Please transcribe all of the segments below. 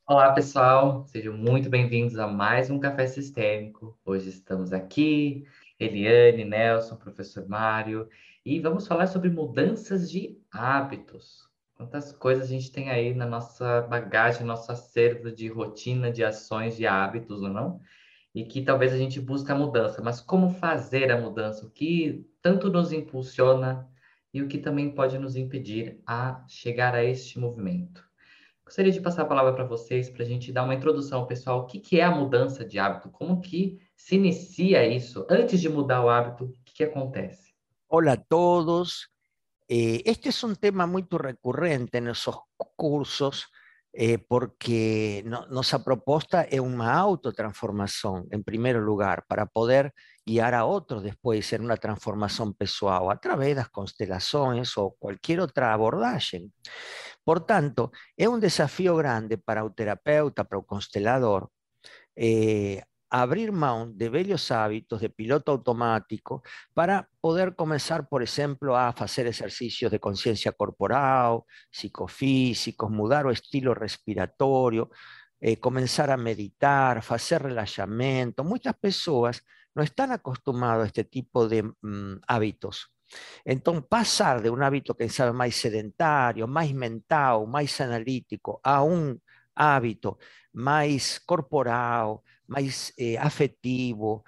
Olá, pessoal, sejam muito bem-vindos a mais um Café Sistêmico. Hoje estamos aqui, Eliane, Nelson, professor Mário, e vamos falar sobre mudanças de hábitos. Quantas coisas a gente tem aí na nossa bagagem, nosso acervo de rotina, de ações, de hábitos, ou não? E que talvez a gente busque a mudança, mas como fazer a mudança? O que tanto nos impulsiona e o que também pode nos impedir a chegar a este movimento? Gostaria de passar a palavra para vocês para a gente dar uma introdução ao pessoal. O que que é a mudança de hábito? Como que se inicia isso? Antes de mudar o hábito, o que que acontece? Hola a todos. Este es un tema muy recurrente en esos cursos porque nossa proposta é uma autotransformação, em primeiro lugar, para poder guiar a outros depois em uma transformação pessoal, através das constelações ou qualquer outra abordagem. Portanto, é um desafio grande para o terapeuta, para o constelador, abrir mão de velhos hábitos de piloto automático para poder comenzar, por ejemplo, a hacer ejercicios de conciencia corporal, psicofísicos, mudar o estilo respiratorio, comenzar a meditar, hacer relaxamento. Muchas personas no están acostumbradas a este tipo de hábitos. Entonces, pasar de un hábito, que sabe, más sedentario, más mental, más analítico, a un hábito mais corporal, mais afetivo,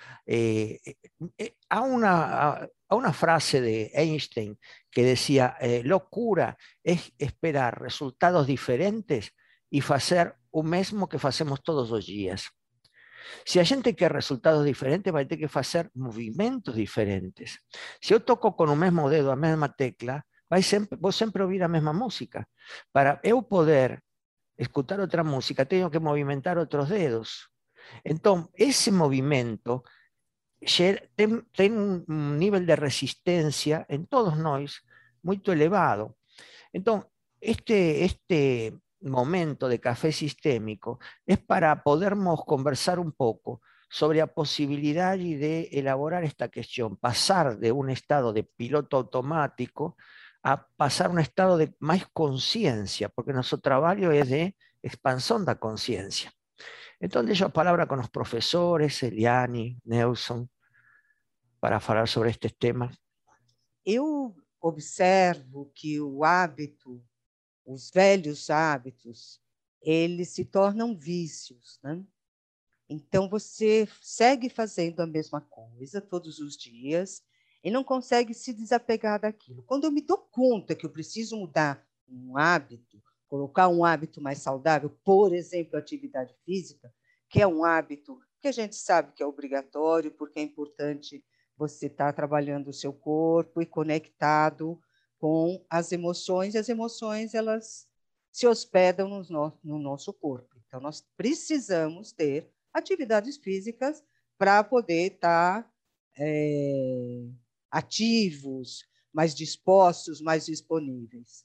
a una frase de Einstein que decía, locura es esperar resultados diferentes y hacer o mesmo que hacemos todos los días. Se a gente quer resultados diferentes, vai ter que fazer movimentos diferentes. Se eu toco com o mesmo dedo a mesma tecla, vou sempre ouvir a mesma música. Para eu poder escutar outra música, tenho que movimentar outros dedos. Então, esse movimento tem um nível de resistência em todos nós muito elevado. Então, este momento de café sistémico es para podermos conversar un poco sobre la posibilidad de elaborar esta cuestión, pasar de un estado de piloto automático a pasar a un estado de más conciencia, porque nuestro trabajo es de expansión de conciencia. Entonces, yo palabra con los profesores, Eliane, Nelson, para hablar sobre este tema. Eu observo que o hábito, os velhos hábitos, eles se tornam vícios, né? Então, você segue fazendo a mesma coisa todos os dias e não consegue se desapegar daquilo. Quando eu me dou conta que eu preciso mudar um hábito, colocar um hábito mais saudável, por exemplo, a atividade física, que é um hábito que a gente sabe que é obrigatório, porque é importante você estar trabalhando o seu corpo e conectado com as emoções, e as emoções elas se hospedam no nosso corpo. Então, nós precisamos ter atividades físicas para poder estar ativos, mais dispostos, mais disponíveis.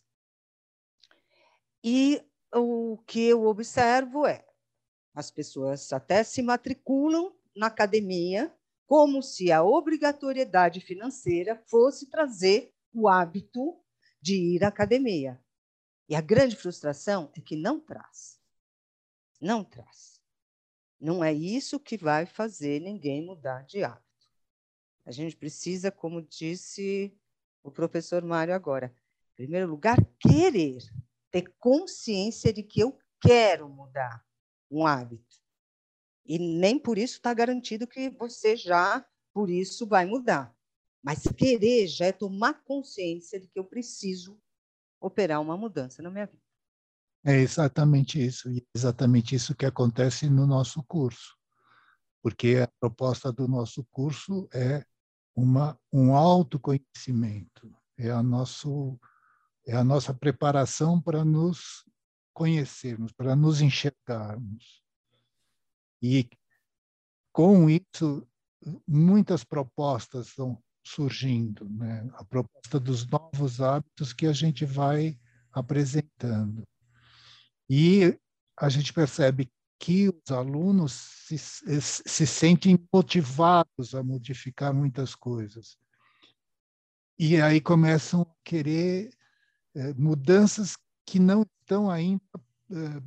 E o que eu observo é as pessoas até se matriculam na academia como se a obrigatoriedade financeira fosse trazer o hábito de ir à academia. E a grande frustração é que não traz. Não traz. Não é isso que vai fazer ninguém mudar de hábito. A gente precisa, como disse o professor Mário agora, em primeiro lugar, querer, ter consciência de que eu quero mudar um hábito. E nem por isso está garantido que você já, por isso, vai mudar. Mas querer já é tomar consciência de que eu preciso operar uma mudança na minha vida. É exatamente isso que acontece no nosso curso, porque a proposta do nosso curso é um autoconhecimento, é a nossa preparação para nos conhecermos, para nos enxergarmos. E, com isso, muitas propostas estão surgindo, né? A proposta dos novos hábitos que a gente vai apresentando. E a gente percebe que os alunos se sentem motivados a modificar muitas coisas. E aí começam a querer mudanças que não estão ainda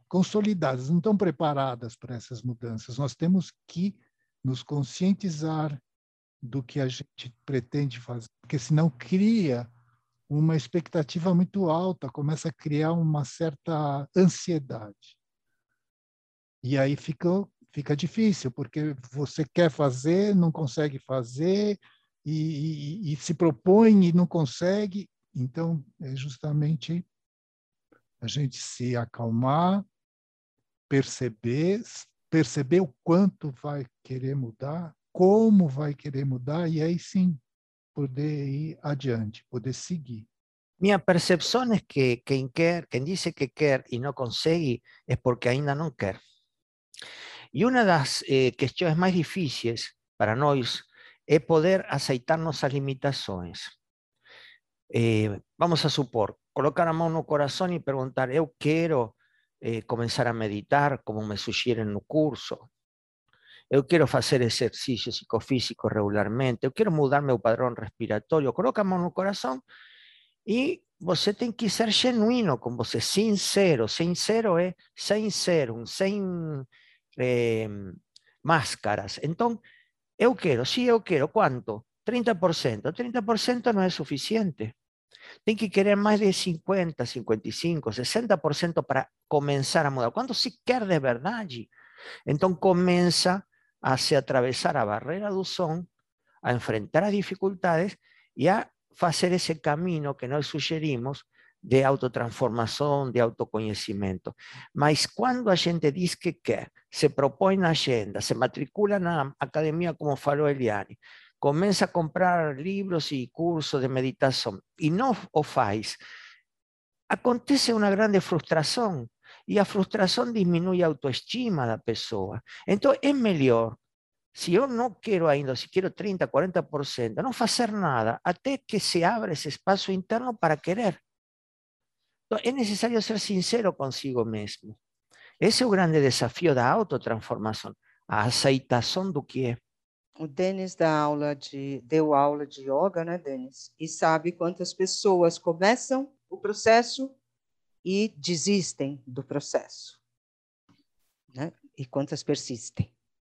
consolidadas, não estão preparadas para essas mudanças. Nós temos que nos conscientizar do que a gente pretende fazer, porque senão cria uma expectativa muito alta, começa a criar uma certa ansiedade. E aí fica difícil, porque você quer fazer, não consegue fazer, e se propõe e não consegue. Então, é justamente a gente se acalmar, perceber o quanto vai querer mudar, como vai querer mudar, e aí sim poder ir adiante, poder seguir. Mi percepción es que quien dice que quer y no consigue es porque ainda no quer. Y una de las cuestiones más difíciles para nós es poder aceitarnos as limitações. Vamos a supor, colocar a mão no coração e perguntar, eu quero começar a meditar, como me sugerem no curso. Eu quero fazer exercício psicofísico regularmente. Eu quero mudar meu padrão respiratório. Coloca a mão no coração e você tem que ser genuíno com você, sincero. Sincero é sem serum, sem máscaras. Então, eu quero, sim, eu quero. Quanto? 30%. 30% não é suficiente. Tem que querer mais de 50, 55, 60% para começar a mudar. Quando se quer de verdade, então começa a se atravessar a barreira do som, a enfrentar as dificuldades e a fazer esse caminho que nós sugerimos de autotransformação, de autoconhecimento. Mas quando a gente diz que quer, se propõe na agenda, se matricula na academia, como falou Eliane, começa a comprar livros e cursos de meditação e não o faz, acontece uma grande frustração. E a frustração diminui a autoestima da pessoa. Então, é melhor, se eu não quero ainda, se quero 30%, 40%, não fazer nada, até que se abra esse espaço interno para querer. Então, é necessário ser sincero consigo mesmo. Esse é o grande desafio da autotransformação, a aceitação do que é. O Denis deu aula de yoga, né, Denis? E sabe quantas pessoas começam o processo e desistem do processo, né? E quantas persistem.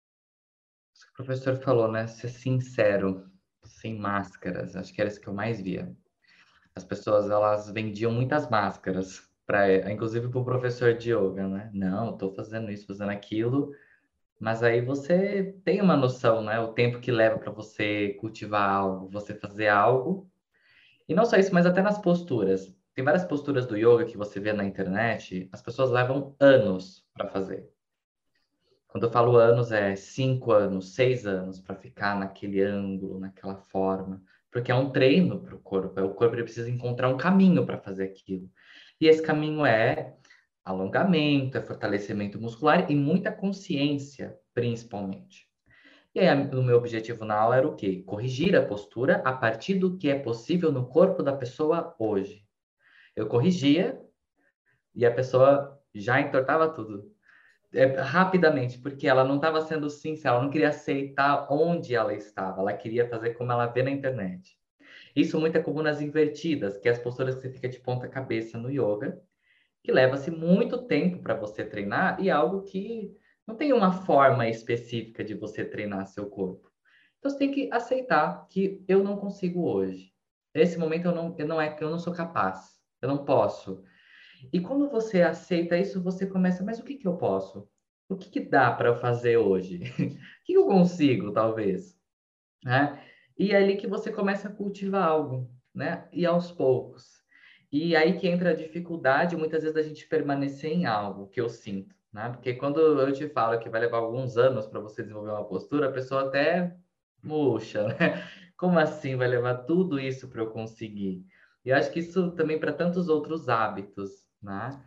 O professor falou, né? Ser sincero, sem máscaras. Acho que era isso que eu mais via. As pessoas, elas vendiam muitas máscaras, inclusive para o professor de yoga, né? Não, estou fazendo isso, fazendo aquilo. Mas aí você tem uma noção, né? O tempo que leva para você cultivar algo, você fazer algo. E não só isso, mas até nas posturas. Tem várias posturas do yoga que você vê na internet, as pessoas levam anos para fazer. Quando eu falo anos, é 5 anos, 6 anos para ficar naquele ângulo, naquela forma. Porque é um treino para o corpo. O corpo ele precisa encontrar um caminho para fazer aquilo. E esse caminho é alongamento, é fortalecimento muscular e muita consciência, principalmente. E aí, o meu objetivo na aula era o quê? Corrigir a postura a partir do que é possível no corpo da pessoa hoje. Eu corrigia e a pessoa já entortava tudo. Rapidamente, porque ela não estava sendo sincera, ela não queria aceitar onde ela estava, ela queria fazer como ela vê na internet. Isso muito é comum nas invertidas, que é as posturas que você fica de ponta cabeça no yoga, que leva-se muito tempo para você treinar e é algo que não tem uma forma específica de você treinar seu corpo. Então você tem que aceitar que eu não consigo hoje. Nesse momento eu não sou capaz, eu não posso. E quando você aceita isso, você começa, mas o que que eu posso? O que que dá para eu fazer hoje? O que eu consigo, talvez? Né? E é ali que você começa a cultivar algo, né? E aos poucos. E aí que entra a dificuldade, muitas vezes, da gente permanecer em algo, que eu sinto, né? Porque quando eu te falo que vai levar alguns anos para você desenvolver uma postura, a pessoa até murcha, né? Como assim vai levar tudo isso para eu conseguir? E eu acho que isso também para tantos outros hábitos, né?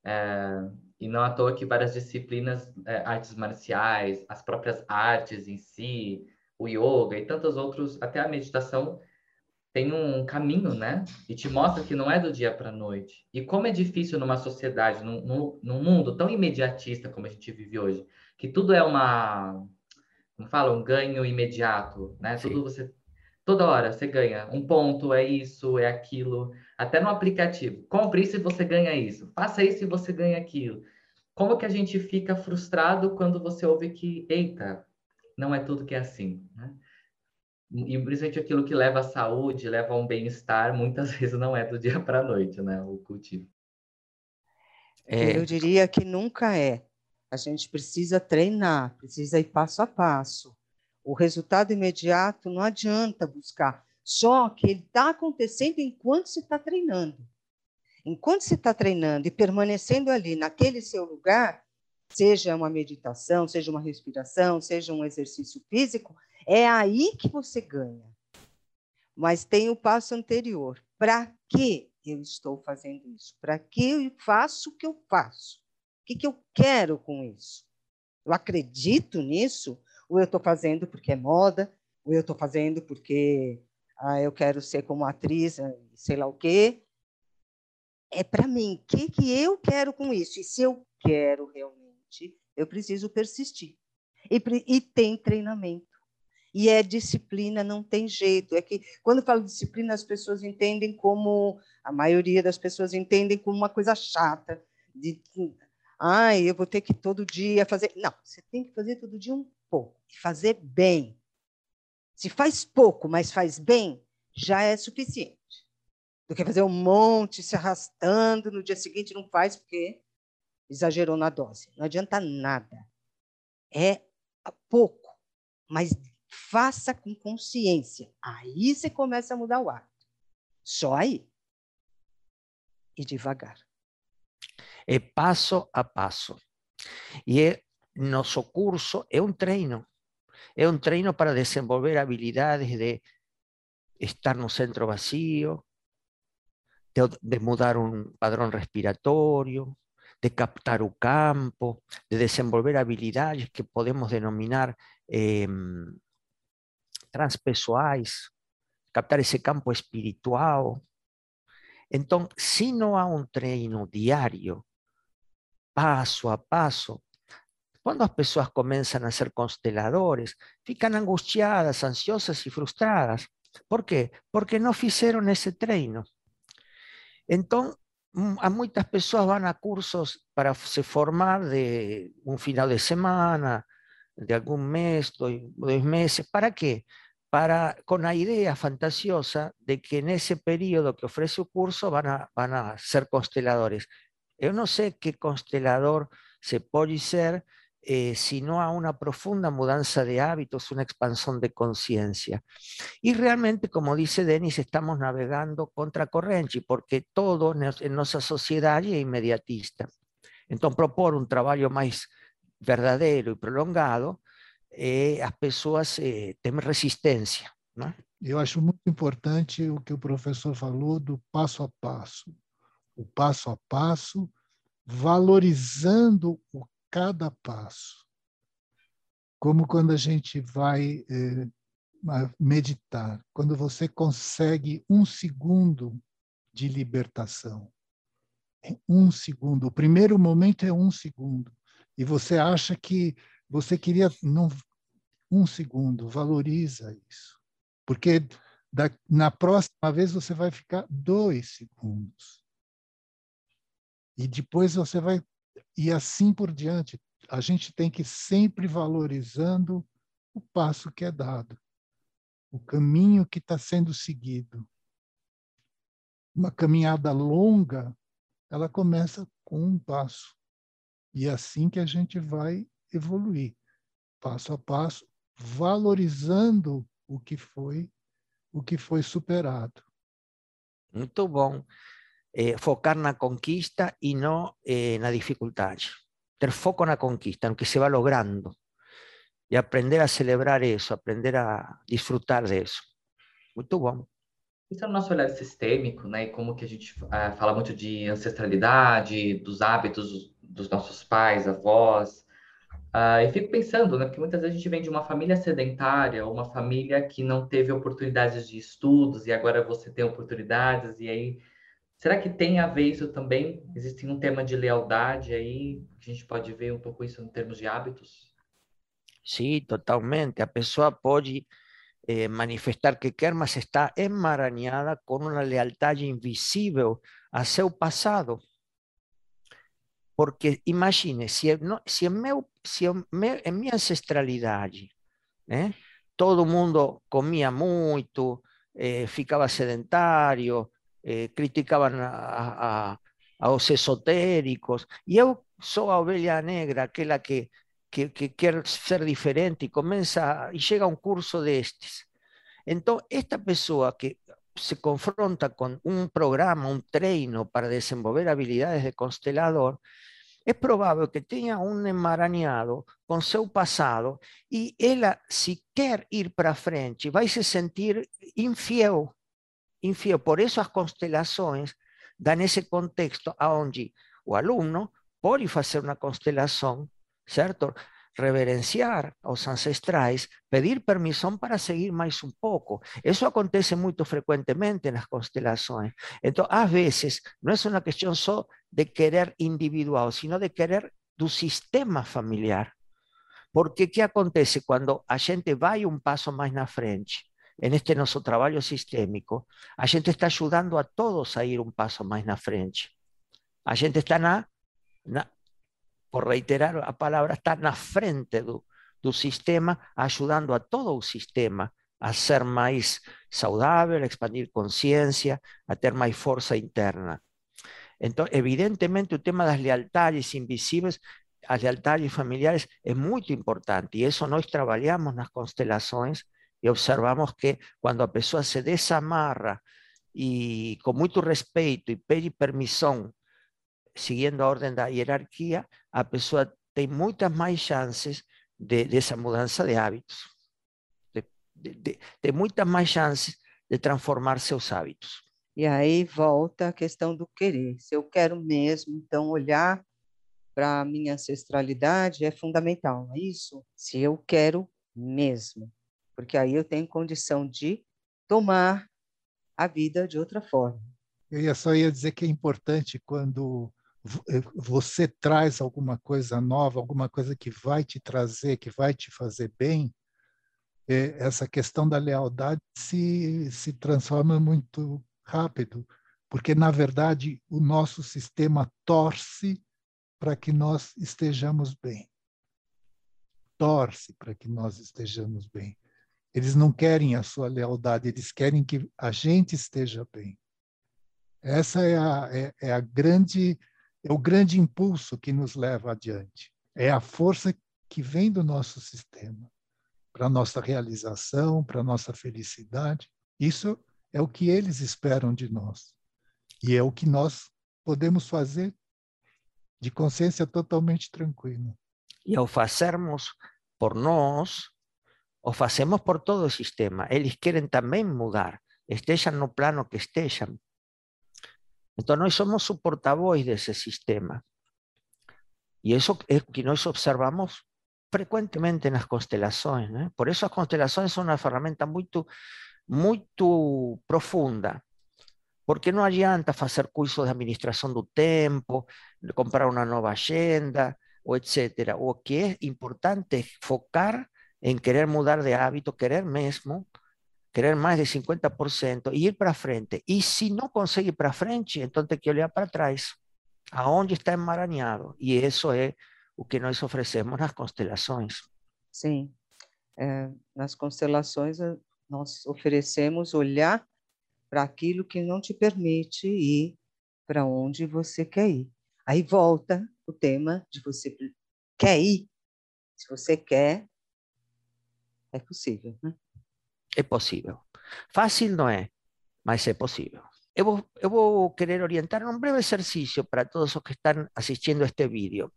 E não à toa que várias disciplinas, artes marciais, as próprias artes em si, o yoga e tantos outros, até a meditação, tem um caminho, né? E te mostra que não é do dia para a noite. E como é difícil numa sociedade, num mundo tão imediatista como a gente vive hoje, que tudo é como fala, um ganho imediato, né? Sim. Toda hora você ganha. Um ponto é isso, é aquilo. Até no aplicativo. Compre isso e você ganha isso. Faça isso e você ganha aquilo. como que a gente fica frustrado quando você ouve que, eita, não é tudo que é assim, né? E principalmente aquilo que leva à saúde, leva a um bem-estar, muitas vezes não é do dia para a noite, né? O cultivo. Eu diria que nunca é. A gente precisa treinar, precisa ir passo a passo. O resultado imediato não adianta buscar. Só que ele está acontecendo enquanto se está treinando. Enquanto se está treinando e permanecendo ali, naquele seu lugar, seja uma meditação, seja uma respiração, seja um exercício físico, é aí que você ganha. Mas tem o passo anterior. Para que eu estou fazendo isso? Para que eu faço o que eu faço? O que eu quero com isso? Eu acredito nisso? Ou eu estou fazendo porque é moda? Ou eu estou fazendo porque eu quero ser como atriz, sei lá o quê? É para mim. O que eu quero com isso? E se eu quero realmente, eu preciso persistir. E tem treinamento. E é disciplina, não tem jeito. É que, quando eu falo disciplina, as pessoas entendem como, a maioria das pessoas entendem como uma coisa chata, de, eu vou ter que todo dia fazer. Não, você tem que fazer todo dia um pouco, e fazer bem. Se faz pouco, mas faz bem, já é suficiente. Do que fazer um monte, se arrastando, no dia seguinte não faz, porque exagerou na dose. Não adianta nada. É pouco, mas faça com consciência. Aí você começa a mudar o hábito. Só aí. E devagar. É passo a passo. E nosso curso é um treino. É um treino para desenvolver habilidades de estar no centro vacío, de mudar un padrón respiratorio, de captar o campo, de desenvolver habilidades que podemos denominar transpessoais, captar esse campo espiritual. Então, se não há um treino diário, passo a passo, quando as pessoas começam a ser consteladores, ficam angustiadas, ansiosas e frustradas. Por quê? Porque não fizeram esse treino. Então, a muitas pessoas vão a cursos para se formar de um final de semana, de algum mês, 2 meses. ¿Para quê? Com a ideia fantasiosa de que nesse período que oferece o curso van a ser consteladores. Eu não sei que constelador se pode ser si no há uma profunda mudança de hábitos, uma expansão de consciência. Y realmente, como dice Denis, estamos navegando contra corrente, porque todo en nuestra sociedad es inmediatista. Entonces, propor un trabajo más verdadero y prolongado, as pessoas têm resistência, né? Eu acho muito importante o que o professor falou do passo a passo. O passo a passo, valorizando o cada passo. Como quando a gente vai meditar, quando você consegue 1 segundo de libertação. 1 segundo. O primeiro momento é 1 segundo. E você acha que você queria... Não, 1 segundo, valoriza isso. Porque na próxima vez você vai ficar 2 segundos. E depois você vai... E assim por diante. A gente tem que ir sempre valorizando o passo que é dado, o caminho que está sendo seguido. Uma caminhada longa, ela começa com um passo. E é assim que a gente vai evoluir, passo a passo, valorizando o que foi superado. Muito bom. Focar na conquista e não na dificuldade. Ter foco na conquista, no que se va logrando. E aprender a celebrar isso, aprender a desfrutar disso. Muito bom. Isso é o nosso olhar sistêmico, né? E como que a gente fala muito de ancestralidade, dos hábitos dos nossos pais, avós. E fico pensando, né? Porque muitas vezes a gente vem de uma família sedentária, ou uma família que não teve oportunidades de estudos, e agora você tem oportunidades, e aí, será que tem a ver isso também? Existe um tema de lealdade aí, que a gente pode ver um pouco isso em termos de hábitos? Sim, totalmente. A pessoa pode manifestar que quer, mas está emaranhada com uma lealdade invisível a seu passado. Porque imagine, em minha ancestralidade, né, todo mundo comia muito, ficava sedentário, criticavam aos esotéricos, e eu sou a ovelha negra, aquela que quer ser diferente e começa e chega a um curso destes. Então, esta pessoa que se confronta con un programa, un treino para desenvolver habilidades de constelador, es probable que tenha um emaranhado com seu passado e ela, se quer ir para frente, vai se sentir infiel. Infiel. Por isso as constelações dão esse contexto onde o aluno pode fazer uma constelação, certo? Reverenciar aos ancestrais, pedir permissão para seguir mais um pouco. Isso acontece muito frequentemente nas constelações. Então, às vezes, não é uma questão só de querer individual, sino de querer do sistema familiar. Porque o que acontece quando a gente vai um passo mais na frente? Este nosso trabalho sistêmico, a gente está ajudando a todos a ir um passo mais na frente. A gente está por reiterar a palavra, está na frente do sistema, ajudando a todo o sistema a ser mais saudável, a expandir consciência, a ter mais força interna. Então, evidentemente, o tema das lealtades invisíveis, as lealtades familiares, é muito importante, e isso nós trabalhamos nas constelações e observamos que quando a pessoa se desamarra e com muito respeito e pede permissão, seguindo a ordem da hierarquia, a pessoa tem muitas mais chances dessa mudança de hábitos. Tem muitas mais chances de transformar seus hábitos. E aí volta a questão do querer. Se eu quero mesmo, então olhar para a minha ancestralidade é fundamental, não é isso? Se eu quero mesmo, porque aí eu tenho condição de tomar a vida de outra forma. Eu só ia dizer que é importante quando você traz alguma coisa nova, alguma coisa que vai te trazer, que vai te fazer bem, essa questão da lealdade se transforma muito rápido, porque, na verdade, o nosso sistema torce para que nós estejamos bem. Torce para que nós estejamos bem. Eles não querem a sua lealdade, eles querem que a gente esteja bem. Essa é o grande impulso que nos leva adiante. É a força que vem do nosso sistema para a nossa realização, para a nossa felicidade. Isso é o que eles esperam de nós. E é o que nós podemos fazer de consciência totalmente tranquila. E ao fazermos por nós, o fazemos por todo o sistema. Eles querem também mudar, estejam no plano que estejam. Então, nós somos o porta-voz desse sistema. E isso é o que nós observamos frequentemente nas constelações, né? Por isso as constelações são uma ferramenta muito, muito profunda. Porque não adianta fazer cursos de administração do tempo, comprar uma nova agenda, ou etc. O que é importante é focar em querer mudar de hábito, querer mesmo, querer mais de 50% e ir para frente. E se não consegue ir para frente, então tem que olhar para trás, aonde está emaranhado. E isso é o que nós oferecemos nas constelações. Sim, nas constelações nós oferecemos olhar para aquilo que não te permite ir para onde você quer ir. Aí volta o tema de você quer ir. Se você quer, é possível, né? É possível. Fácil não é, mas é possível. Eu vou querer orientar um breve exercício para todos os que estão assistindo a este vídeo.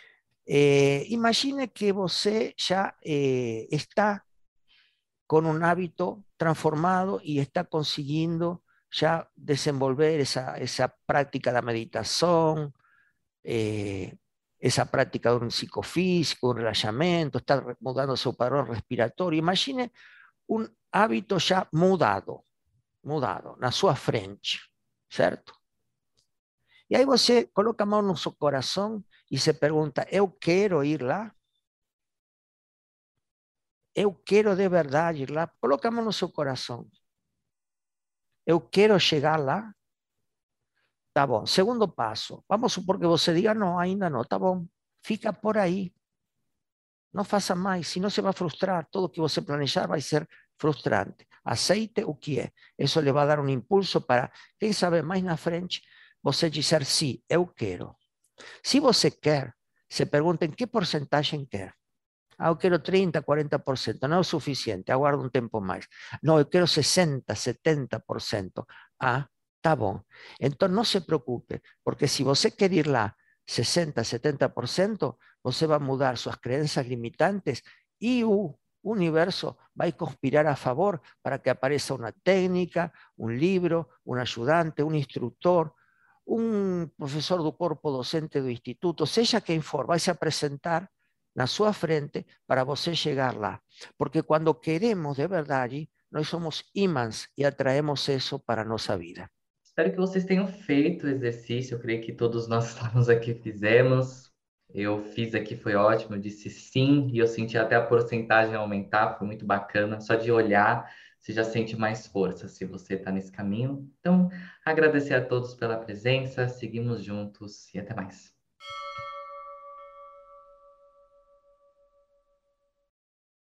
Imagine que você já está con un hábito transformado y está consiguiendo ya desenvolver esa práctica de meditación, esa práctica de un psicofísico, un relajamiento, está mudando su padrón respiratorio. Imagine un hábito ya mudado na sua frente, certo? E aí você coloca a mão no seu coração e se pergunta, eu quero ir lá? Eu quero de verdade ir lá? Coloca a mão no seu coração. Eu quero chegar lá? Tá bom. Segundo passo. Vamos supor que você diga, não, ainda não. Tá bom. Fica por aí. Não faça mais, senão você vai frustrar. Tudo que você planejar vai ser frustrante. Aceite o que é. Isso lhe vai dar um impulso para, quem sabe, mais na frente, você dizer, sim, eu quero. Se você quer, se pergunta em que porcentagem quer. Ah, eu quero 30, 40%, não é o suficiente, aguardo um tempo mais. Não, eu quero 60, 70%. Ah, tá bom. Então não se preocupe, porque se você quer ir lá 60, 70%, você vai mudar suas crenças limitantes e o universo vai conspirar a favor para que apareça uma técnica, um livro, um ajudante, um instrutor, um professor do corpo docente do instituto, seja quem for, vai se apresentar na sua frente para você chegar lá. Porque quando queremos de verdade, nós somos ímãs e atraemos isso para a nossa vida. Espero que vocês tenham feito o exercício. Eu creio que todos nós estávamos aqui fizemos. Eu fiz aqui, foi ótimo. Eu disse sim e eu senti até a porcentagem aumentar. Foi muito bacana. Só de olhar, você já sente mais força se você está nesse caminho. Então, agradecer a todos pela presença. Seguimos juntos e até mais.